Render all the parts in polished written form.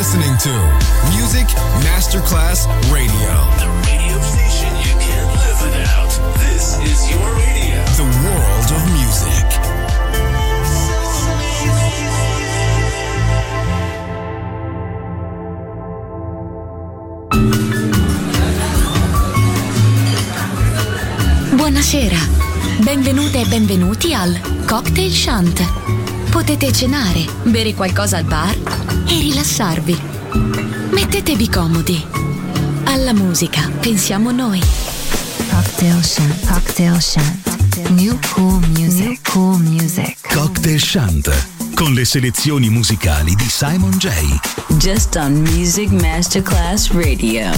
listening to Music Masterclass Radio. The radio station you can't live without. This is your radio. The world of music. Buonasera, benvenute e benvenuti al Cocktail Shant. Potete cenare, bere qualcosa al bar e rilassarvi. Mettetevi comodi. Alla musica pensiamo noi. Cocktail Shant, Cocktail Shant. New cool music, New cool music. Cocktail Shant, con le selezioni musicali di Simon J. Just on Music Masterclass Radio.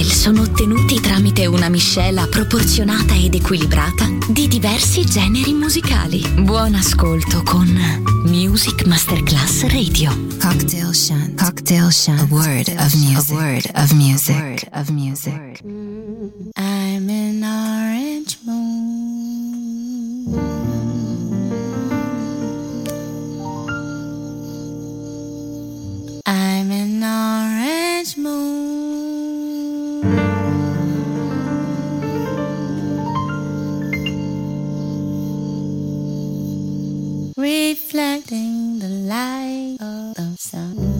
cocktail sono ottenuti tramite una miscela proporzionata ed equilibrata di diversi generi musicali. Buon ascolto con Music Masterclass Radio. Cocktail Shant. Cocktail Shant. A word of music. A word of music. A word of music. I'm an orange moon. I'm an orange moon. Reflecting the light of the sun.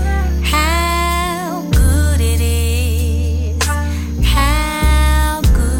How good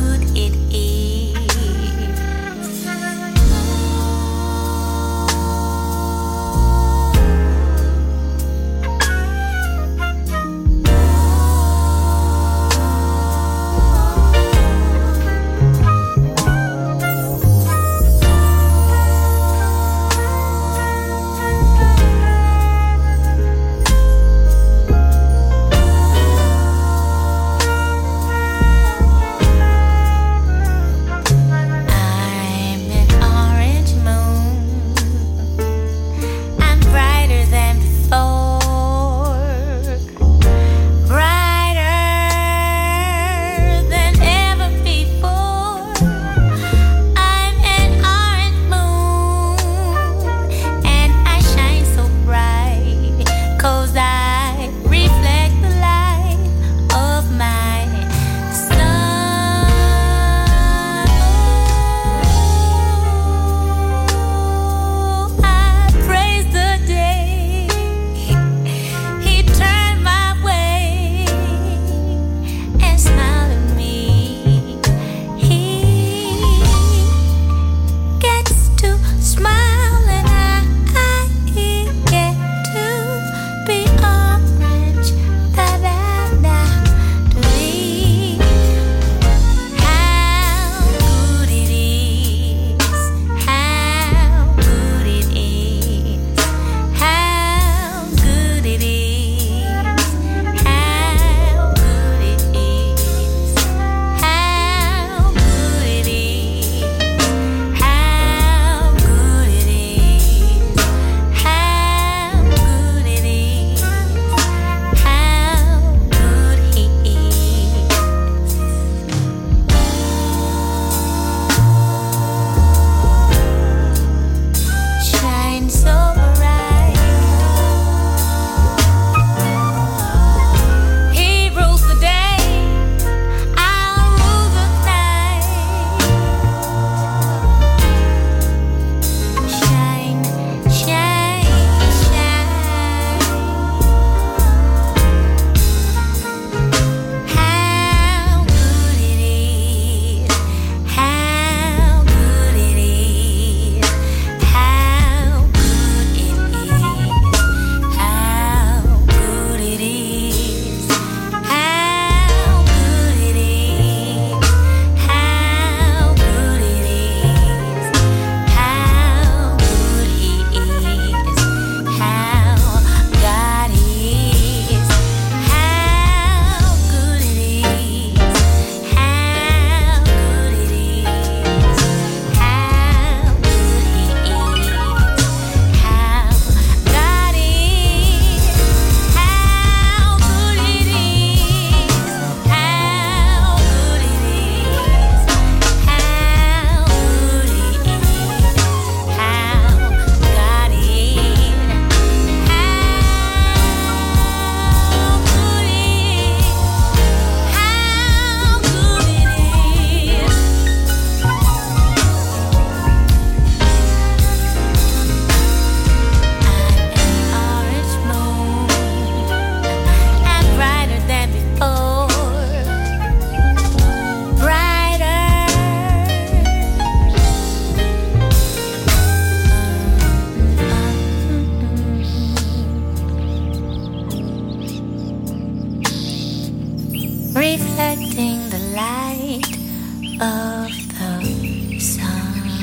reflecting the light of the sun.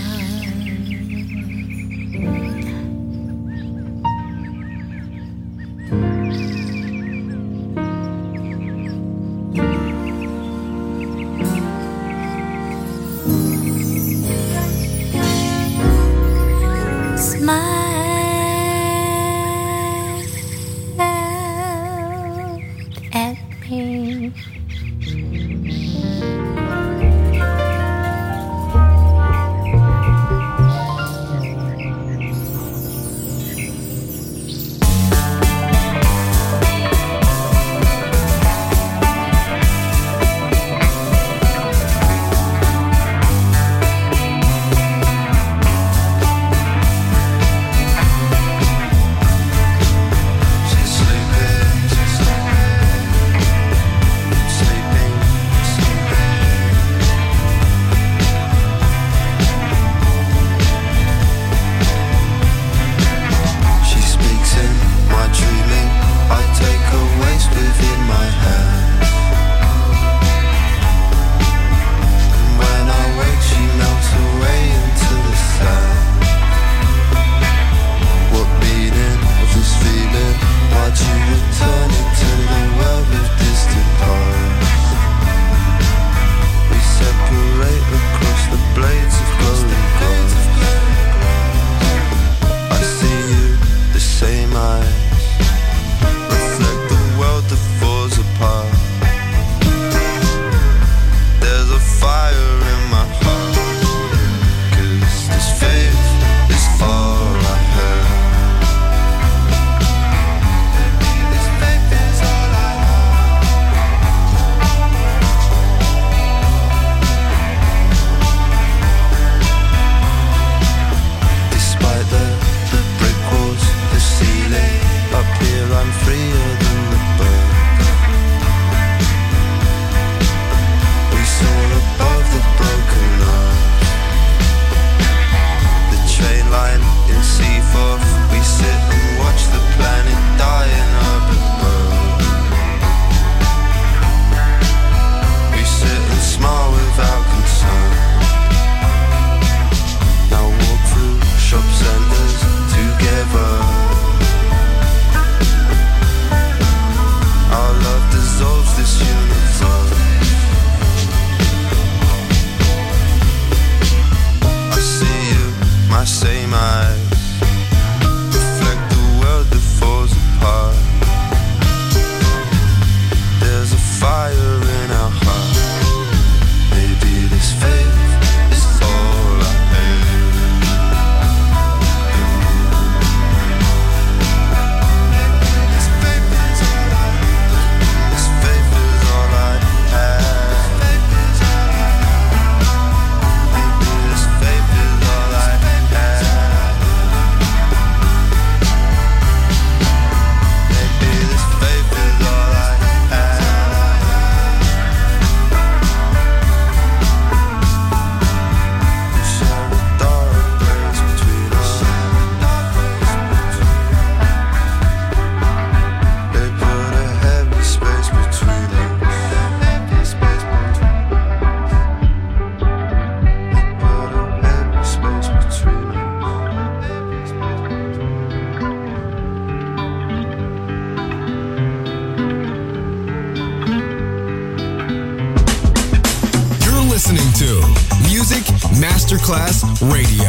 listening to Music Masterclass Radio,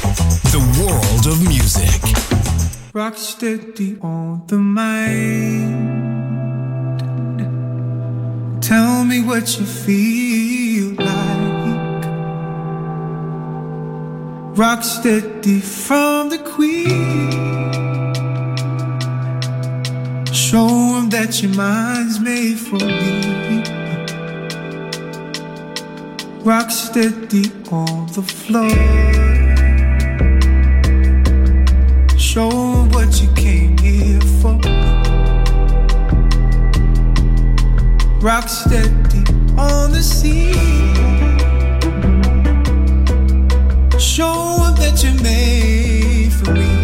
the world of music. Rock steady on the mind. Tell me what you feel like. Rock steady from the Queen. Show 'em that your mind's made for me. Rock steady on the floor. Show 'em what you came here for. Rock steady on the sea. Show 'em that you're made for me.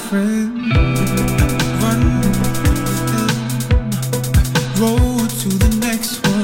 friend. Run, roll to the next one.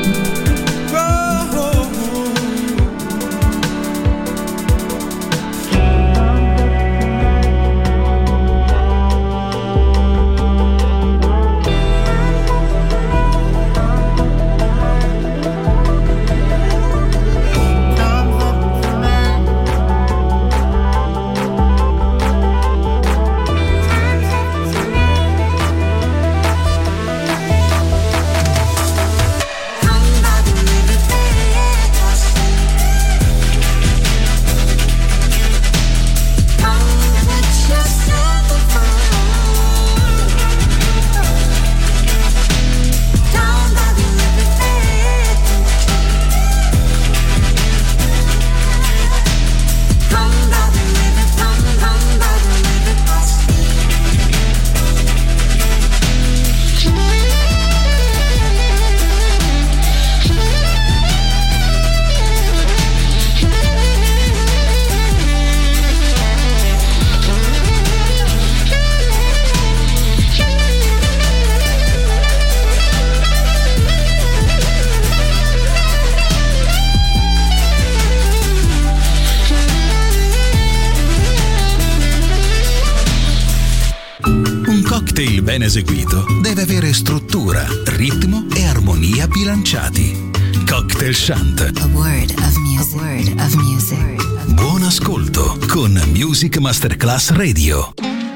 Ben eseguito deve avere struttura, ritmo e armonia bilanciati. Cocktail Shant. A word of music. A word of music. Buon ascolto con Music Masterclass Radio.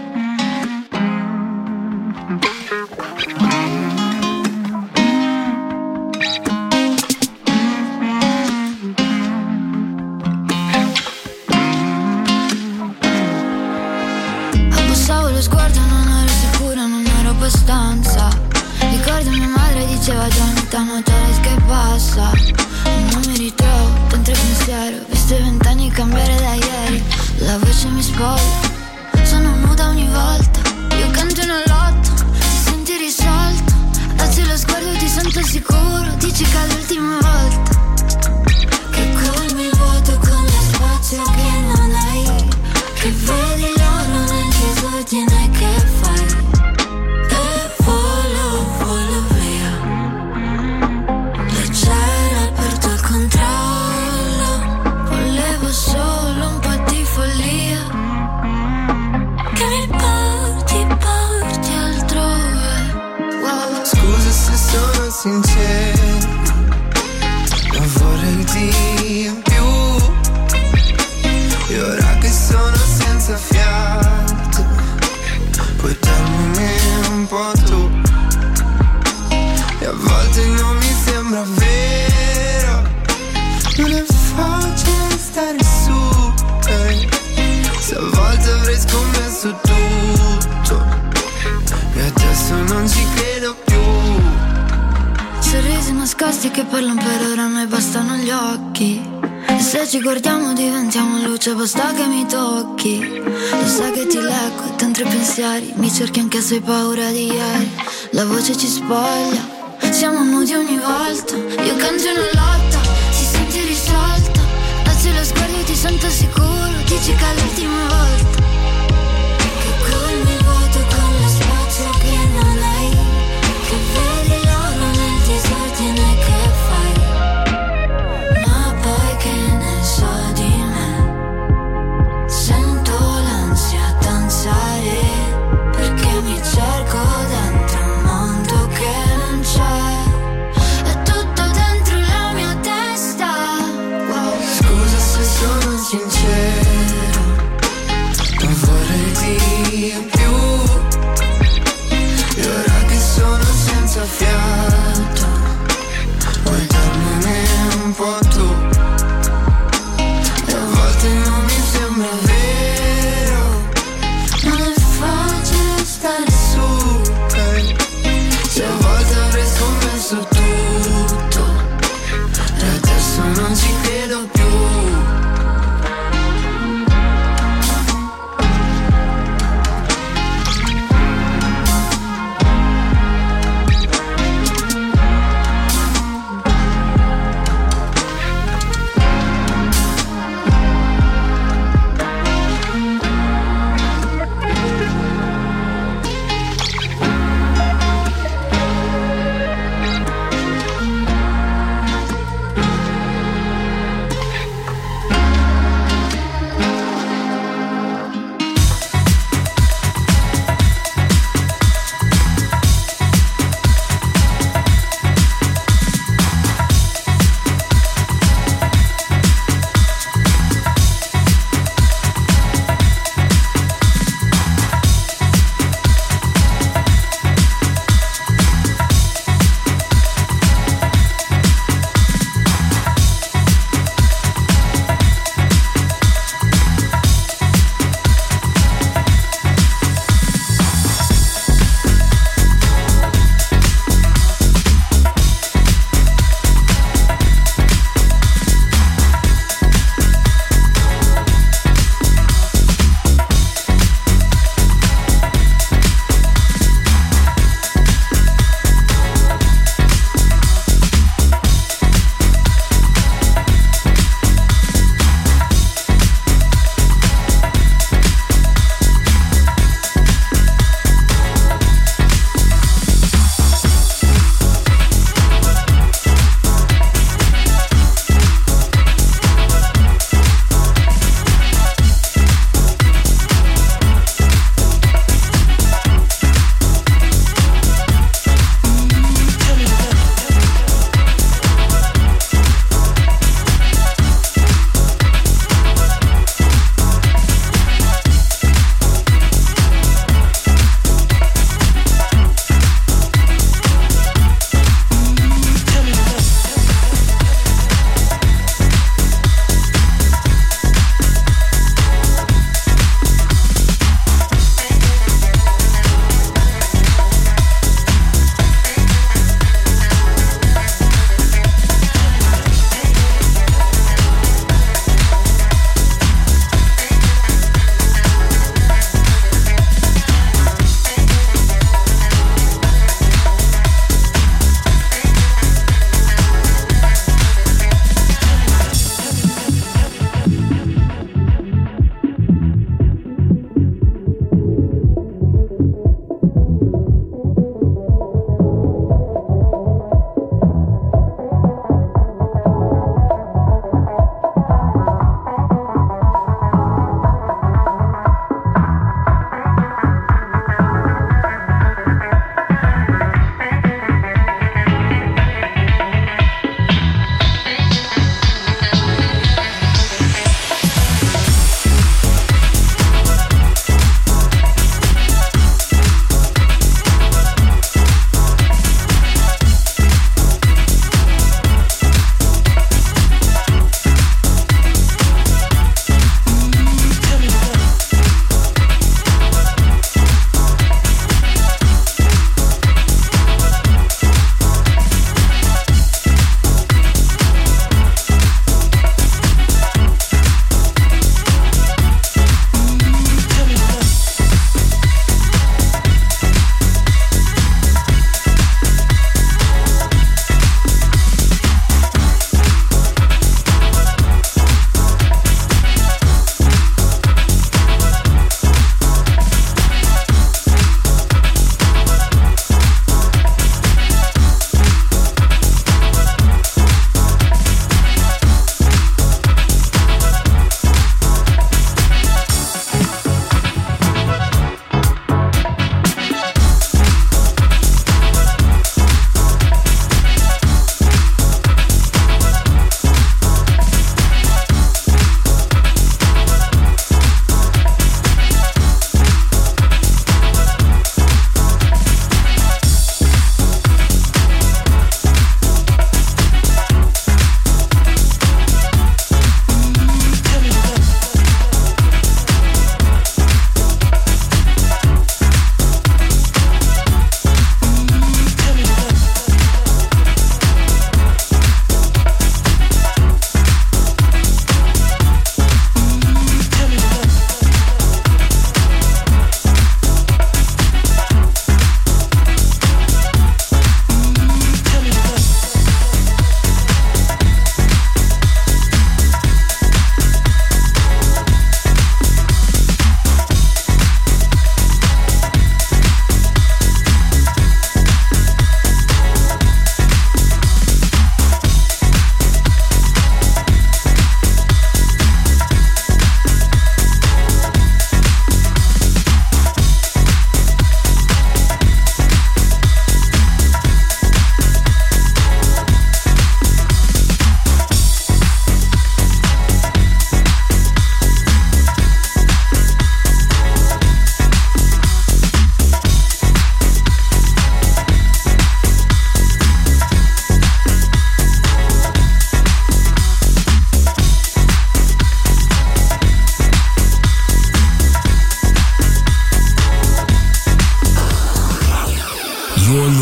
Abbassavo lo sguardo, non ero sicura, non ero abbastanza. Ricordo mia madre diceva già ogni tanto che passa. E non mi ritrovo dentro il pensiero. Visto i 20 anni cambiare da ieri. La voce mi spoglia, sono nuda ogni volta. Io canto una lotta, ti senti risolto. Alzi lo sguardo, ti sento sicuro. Dici che è l'ultima volta. Che colmi il vuoto con lo spazio che non hai. Che vedi l'oro nel disordine che fai. E volo via. Leggera, perdo il controllo. Volevo solo un po' di follia. Che mi porti altrove. Wow. Scusa se sono sincero, ma vorrei di più. E ora che sono senza fiato, puoi darmi un po' tu. E a volte non mi sembra vero, non è facile stare su, se a volte avrei scommesso tutto e adesso non ci credo più. Sorrisi nascosti che parlano per ora, a noi bastano gli occhi. E se ci guardiamo diventiamo luce, basta che mi tocchi. Lo sai che ti leggo dentro i pensieri, mi cerchi anche se hai paura di ieri. La voce ci spoglia, siamo nudi ogni volta. Io canto una lotta, ti senti risolta. Alzi lo sguardo e ti sento sicuro. Dici che è l'ultima volta. Che colmi il vuoto con lo spazio che non hai. Che vedi l'oro nel disordine che fai. Ma poi che ne so di me. Sento l'ansia danzare, perché mi cerco dentro un mondo che non c'è. È tutto dentro la mia testa. Wow. Scusa se sono sincero,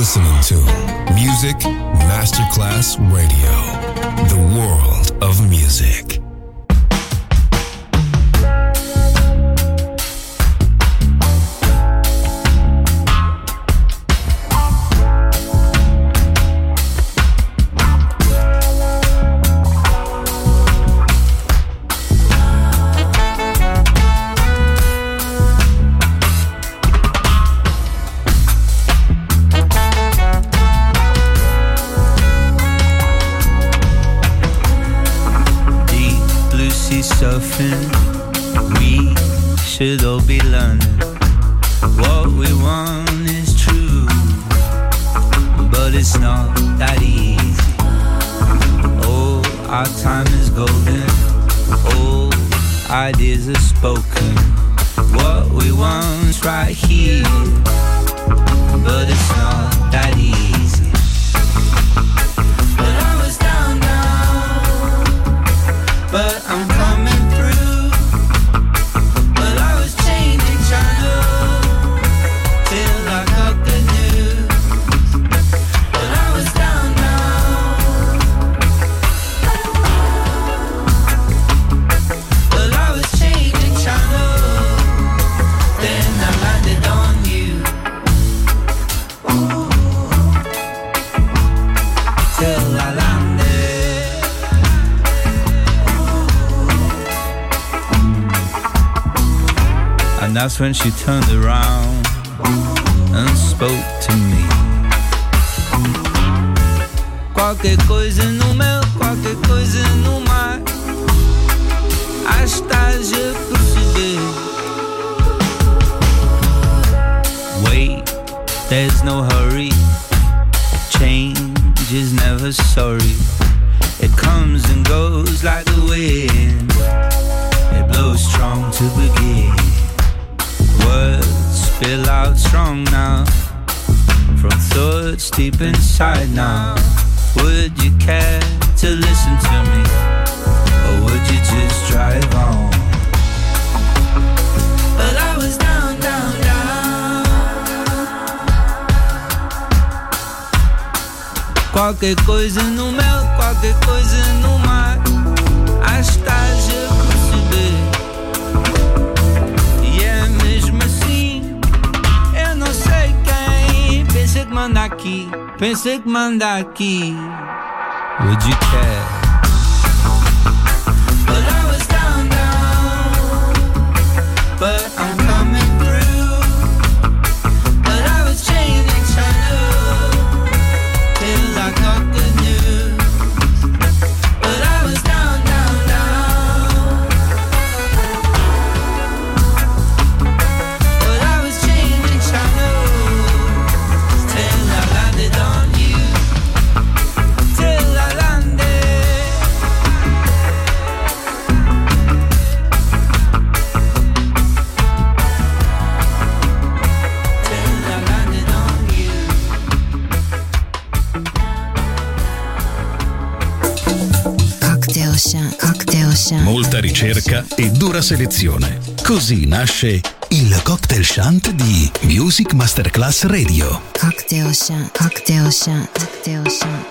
listening to Music Masterclass Radio, the world of music. Surfing, we should all be learning. What we want is true, but it's not that easy. Oh, our time is golden, all ideas are spoken. What we want's right here, but it's not that easy. But I was down, but I'm coming through. But I was changing channel till I got the news. But I was down now. But I was changing channel, then I landed on you. Ooh. Till I landed. And that's when she turned around and spoke to me. Qualquer coisa no meu, qualquer coisa no mar. Estás a perceber? Wait, there's no hurry. Change is never sorry. It comes and goes like the wind. It blows strong to begin. Words spill out strong now, from thoughts deep inside now. Would you care to listen to me, or would you just drive on? But I was down, down, down. Qualquer coisa no mel, qualquer coisa no mar. Estás a perceber? Mesmo assim, eu não sei quem pensa que manda aqui, pensa que manda aqui. Would you care? But I was down, down, but I'm coming through. But I was changing channel till I got the news. But I was down, down, down. Molta ricerca e dura selezione. Così nasce il Cocktail Shant di Music Masterclass Radio. Cocktail Shant, Cocktail Shant, Cocktail Shant.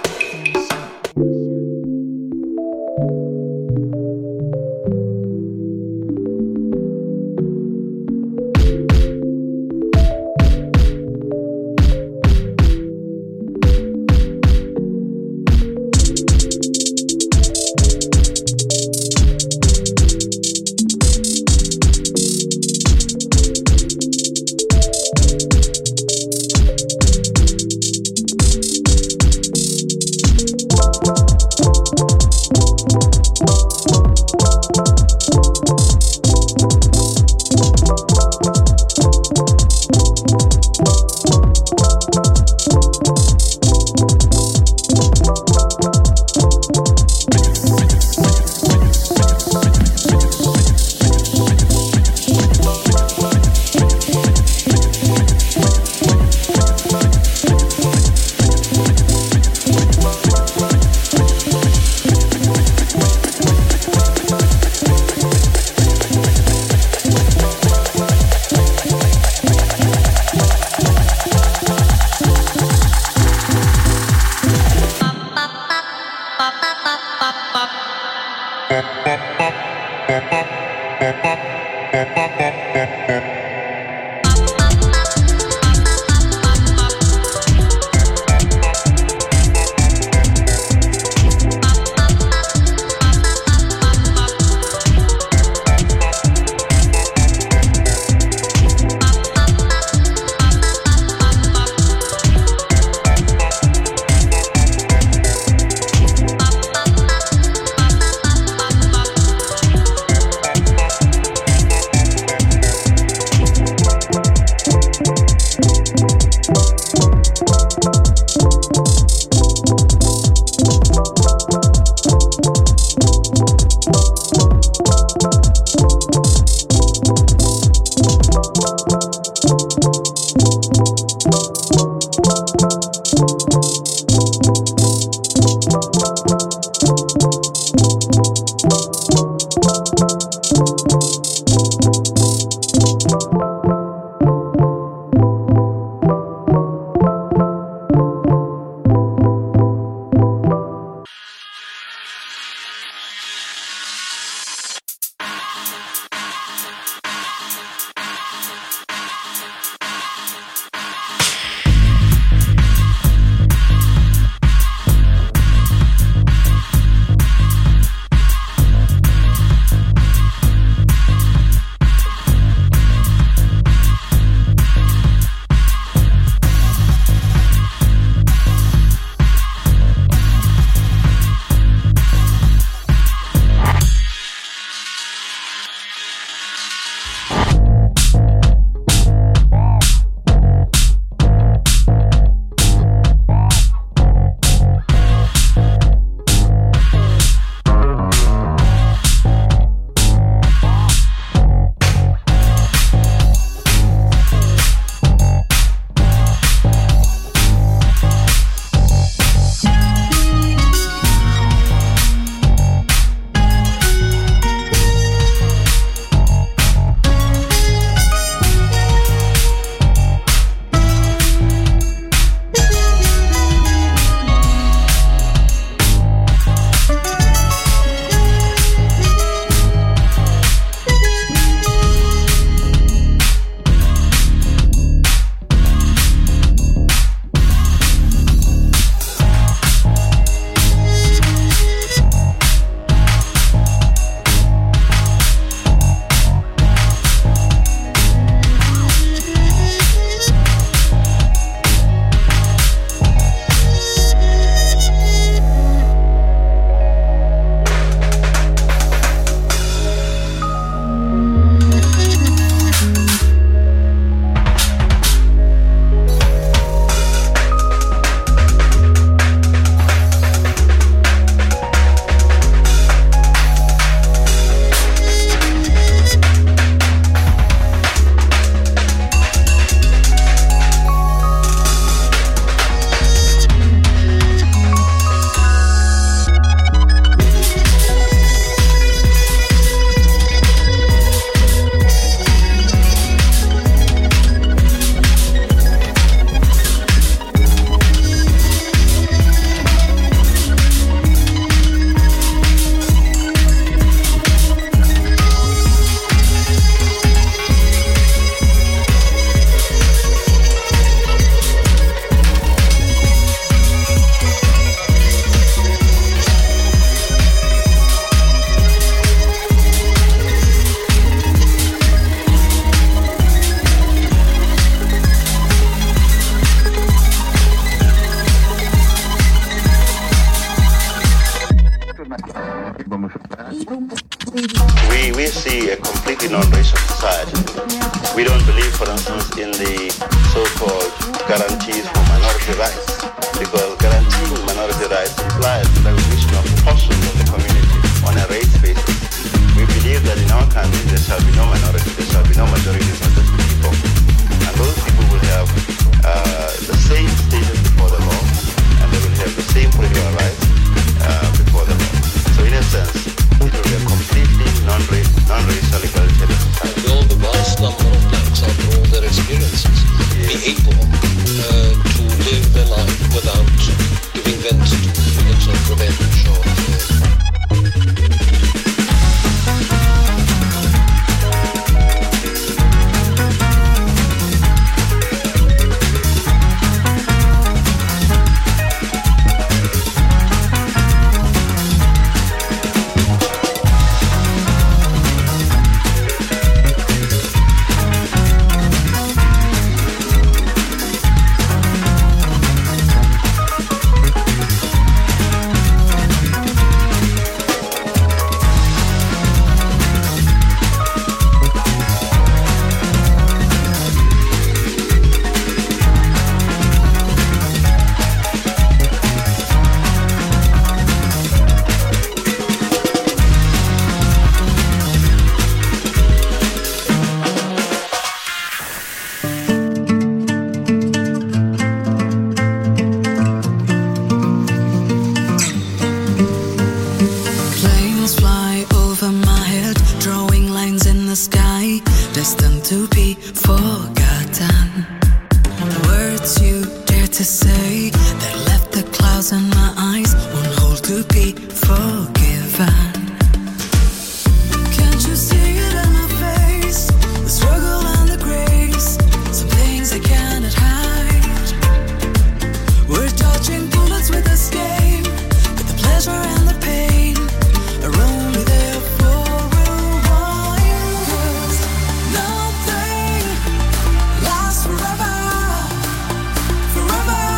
We see a completely non-racial society. We don't believe, for instance, in the so-called guarantees for minority rights, because guaranteeing minority rights implies the recognition of portions of the community on a race basis. We believe that in our country there shall be no minority, there shall be no majorities, but just people. And those people will have the same status before the law, and they will have the same political rights before the law. So in a sense, it will be a completely non-racial egalitarian society. Will the vast number of blacks, after all their experiences, be able to live their life without giving vent to feelings of revenge or destined to be forgotten. The words you dare to say that left the clouds in my eyes won't hold to be forgiven. Can't you see it in my face? The struggle and the grace, some things I cannot hide. We're dodging bullets with escape, but the pleasure and the pain are only there for a while. 'Cause nothing lasts forever, forever.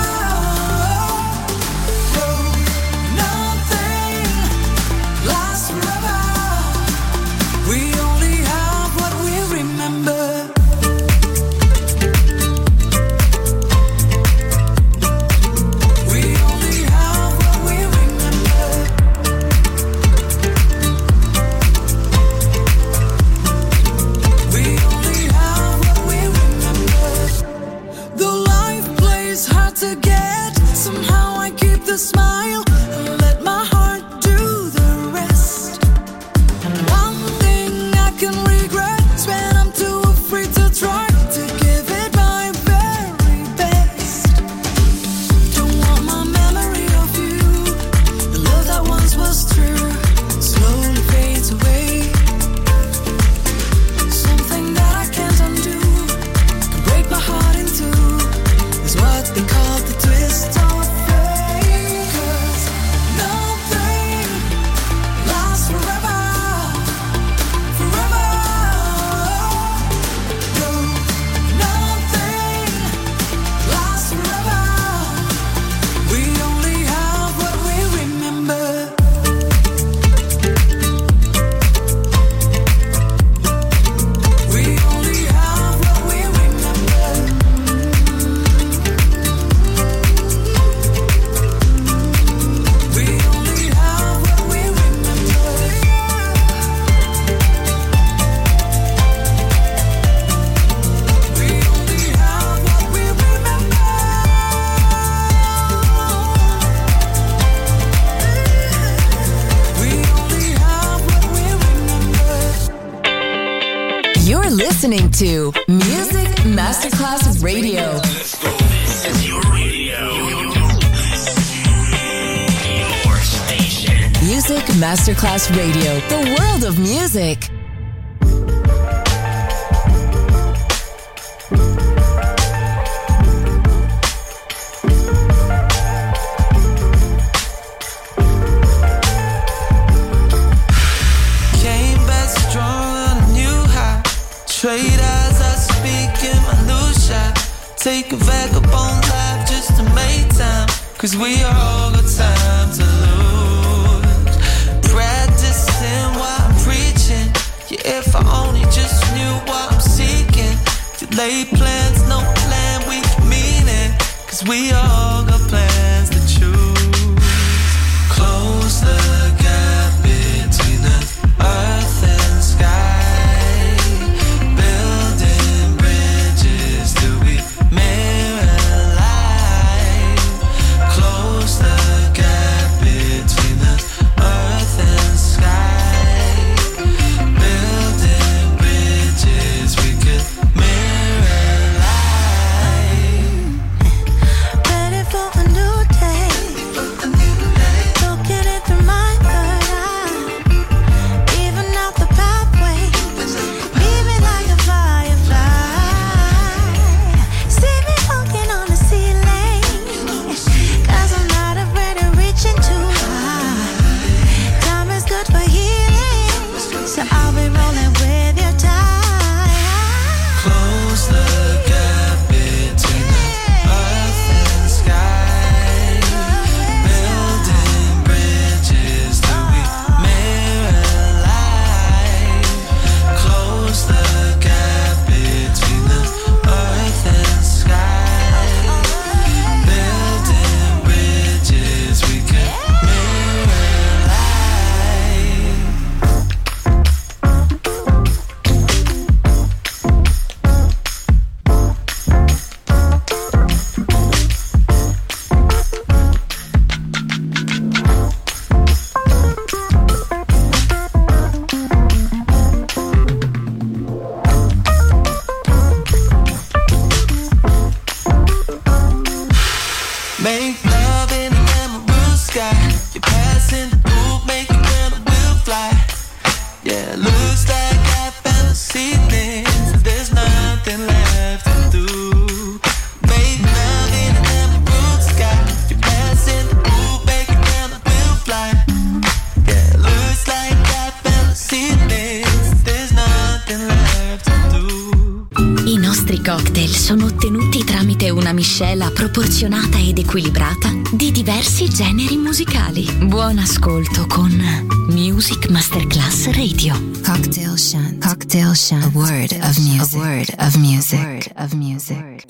No, nothing lasts forever. We only have what we remember. We only have what we remember. We only have what we remember. Though life plays hard to get, somehow I keep the smile and let my heart do the rest. One thing I can regret is when I'm too afraid to try to give it my very best. Don't want my memory of you, the love that once was true, slowly fades away. Something that I can't undo, can break my heart in two, is what they call the twist of fate. 'Cause nothing lasts forever, forever. No, nothing lasts forever. We only have what we remember. We only have what we remember. We only have what we remember. We only have what we remember. We only have what we remember. You're listening to Music Masterclass Radio. This is your radio. Your station. Music Masterclass Radio, the world of music. Came back strong on a new high. Trade as I speak in my new shot. Take a vagabond life just to make time. 'Cause we all got time to lose. Practicing while I'm preaching. Yeah, if I only just knew what I'm seeking. Delay plans, no plan, we can mean it. 'Cause we all got plans to choose. Close the gap between the earth and sky. Building bridges till we mirror life. Close the gap between the earth and sky. Building bridges we could mirror life. Ready for a new day. Looking it through my cocktail sono ottenuti tramite una miscela proporzionata ed equilibrata di diversi generi musicali. Buon ascolto con Music Masterclass Radio. Cocktail Shunt. Cocktail Shunt. A word of music. A word of music. A word of music.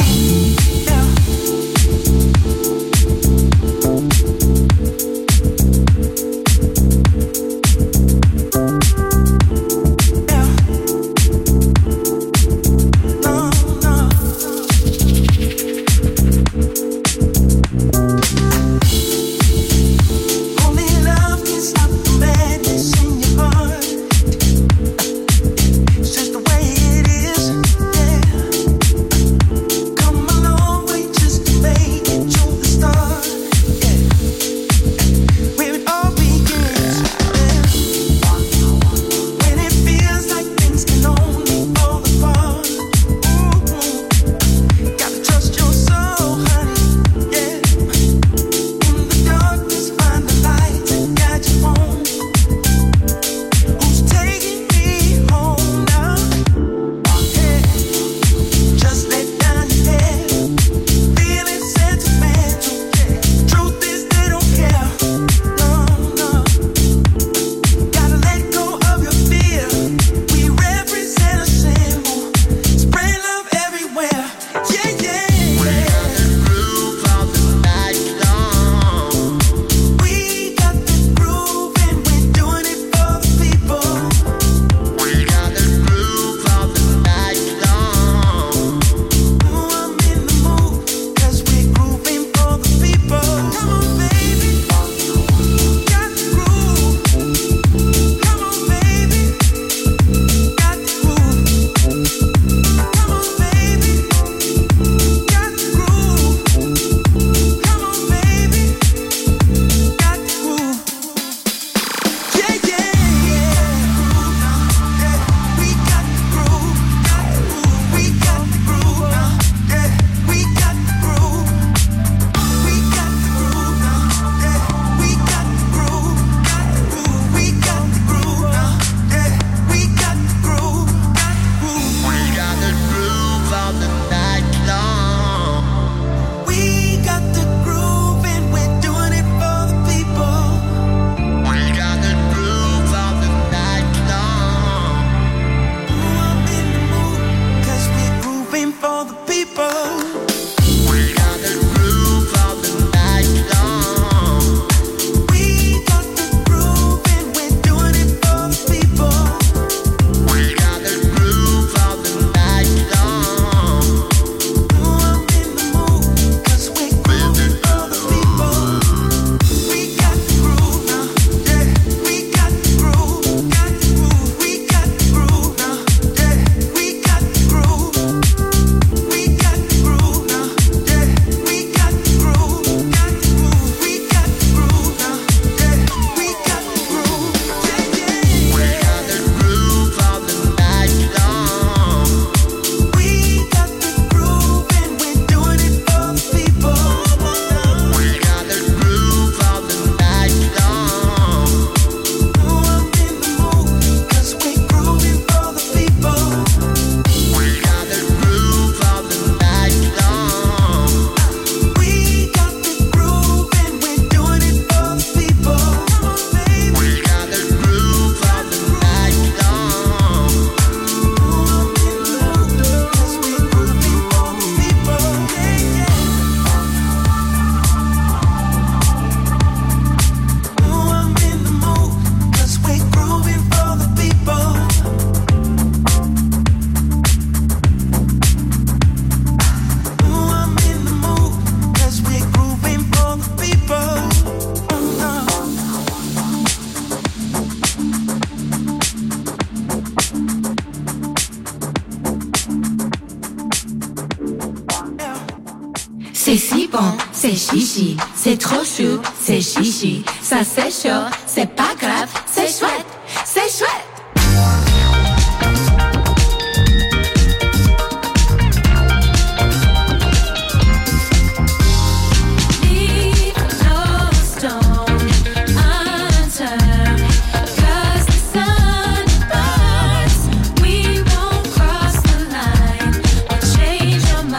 C'est si bon, c'est chichi, c'est trop chou, c'est chichi, ça c'est chaud, c'est pas grave, c'est chouette, c'est chouette. Your mind.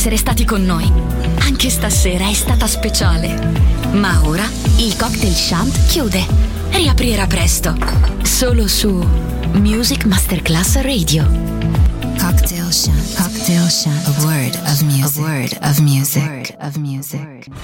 essere stati con noi. Anche stasera è stata speciale. Ma ora il Cocktail Shant chiude. Riaprirà presto. Solo su Music Masterclass Radio. Cocktail Shant. Cocktail Shant. A word of music. A word of music.